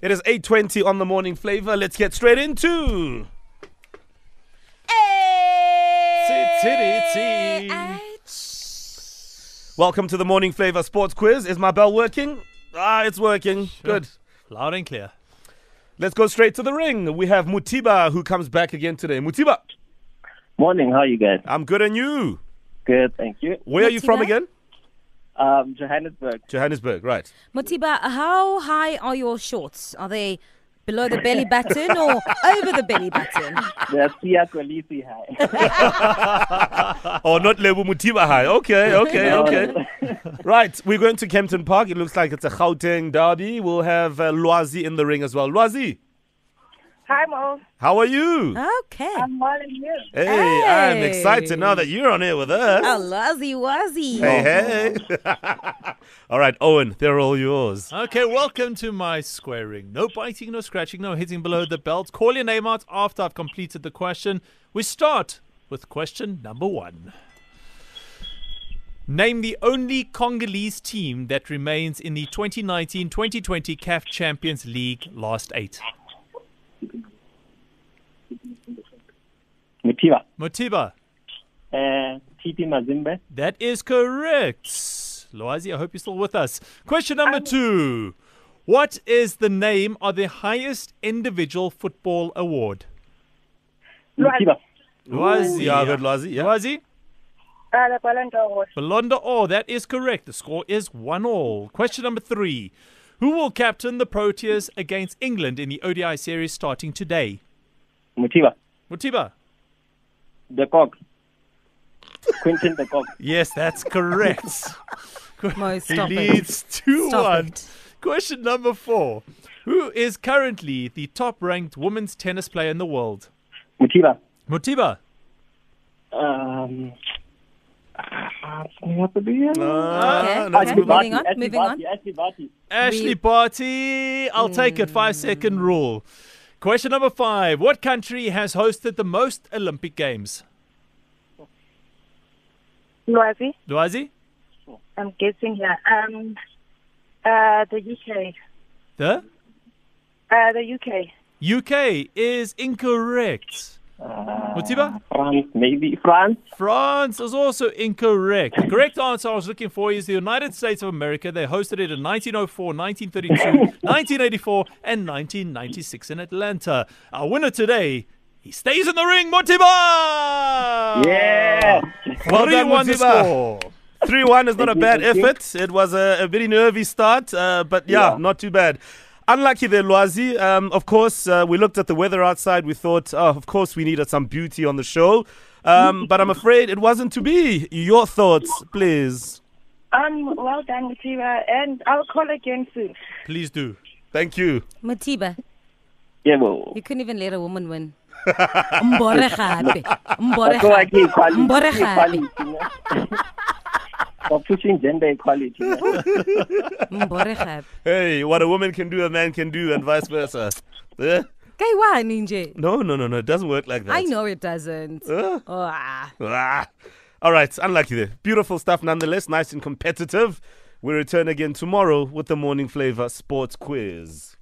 It is 8:20 on the Morning Flavor. Let's get straight into... Welcome to the Morning Flavor Sports Quiz. Is my bell working? It's working. Sure. Good. Loud and clear. Let's go straight to the ring. We have Mutiba who comes back again today. Mutiba. Morning, how are you guys? I'm good, and you? Good, thank you. Where are you from Mutiba? again? Johannesburg. Johannesburg, right. Mutiba, how high are your shorts? Are they below the belly button or over the belly button? The Sia Kolisi high. Oh, not Lebu Mutiba High. Okay. Right, we're going to Kempton Park. It looks like it's a Gauteng derby. We'll have Lwazi in the ring as well. Lwazi, Hi, Mo. how are you? Okay. I'm well and you. Hey, I'm Hey. excited now that you're on here with us. Oh, Lwazi. Hey. All right, Owen, they're all yours. Okay, welcome to my squaring. No biting, no scratching, no hitting below the belt. Call your name out after I've completed the question. We start with question number 1. Name the only Congolese team that remains in the 2019-2020 CAF Champions League last 8. Mutiba. Motiba, TP Mazimbe. that is correct. Loazi, I hope you're still with us. Question number 2. What is the name of the highest individual football award? Mutiba. Loazi. Yeah, good, Lwazi. Yeah. Loazi? The Ballon d'Or. Ballon d'Or, that is correct. The score is 1-1. Question number 3. Who will captain the Proteas against England in the ODI series starting today? Mutiba. Motiba? The Cock. Quentin the Cock. Yes, that's correct. Mo, He stop it. leads 2-1. Stop it. Question number 4. Who is currently the top-ranked women's tennis player in the world? Mutiba. Motiba? What to do here? Okay, let's move on. moving on. Ashley Barty. Ashley Barty. I'll take it. 5-second rule. Question number 5. What country has hosted the most Olympic Games? Loazi. Loazi? I'm guessing here. The UK. The The UK. UK is incorrect. Motiba? France, maybe. France. France is also incorrect. The correct answer I was looking for is the United States of America. They hosted it in 1904, 1932, 1984, and 1996 in Atlanta. Our winner today, he stays in the ring, Motiba! Yeah. Well done, 3-1 the Motiba. score. 3-1 is not a bad Thank you. effort. It was a very nervy start, but yeah, not too bad. Unlucky there, Lwazi. Of course, we looked at the weather outside. We thought, of course, we needed some beauty on the show. But I'm afraid it wasn't to be. Your thoughts, please. Well done, Mutiba, and I'll call again soon. Please do. Thank you. Motiba, Yeah, well. you couldn't even let a woman win. Mbore gape. Mbore So I gape. keep equality. Mbore gape. Equality, yeah. For pushing gender equality. Yeah. Mbore gape. Hey, what a woman can do, a man can do, and vice versa. Eh? Kay wa ninje. No. It doesn't work like that. I know it doesn't. Eh? Ah. All right, unlucky there. Beautiful stuff nonetheless, nice and competitive. We return again tomorrow with the Morning Flavor Sports Quiz.